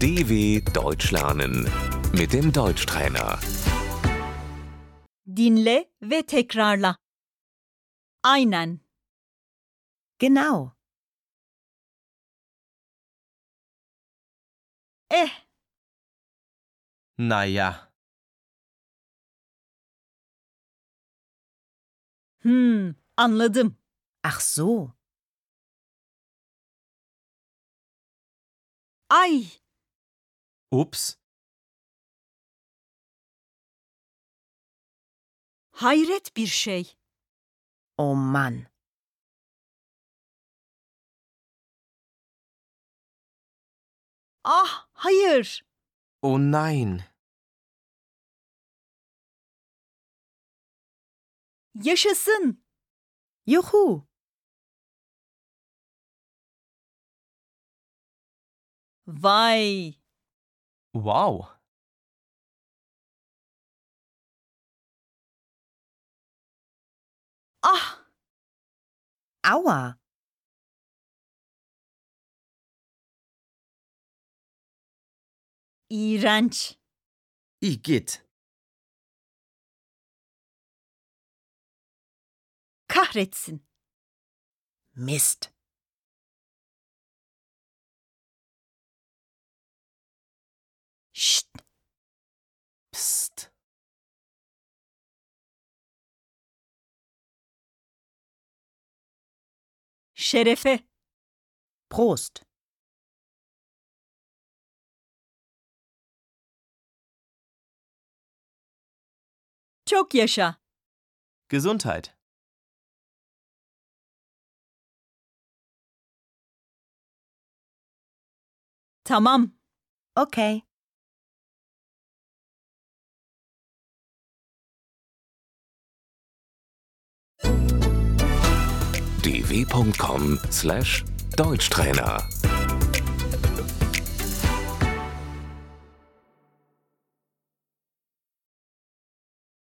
DW Deutsch lernen mit dem Deutschtrainer. Dinle ve tekrarla. Aynen. Genau. Naja, Anladım. Ach so. Ay, ups, hayret bir şey. Oh Mann. Ah, hayır. oh nein, Yaşasın. Juhu. Vay. wow, Ah, Aua. iğrenç. igitt, Kahretsin. Mist. Şşt. pst, Şerefe. Prost. Çok yaşa. Gesundheit, Tamam. Okay. dw.com/Deutschtrainer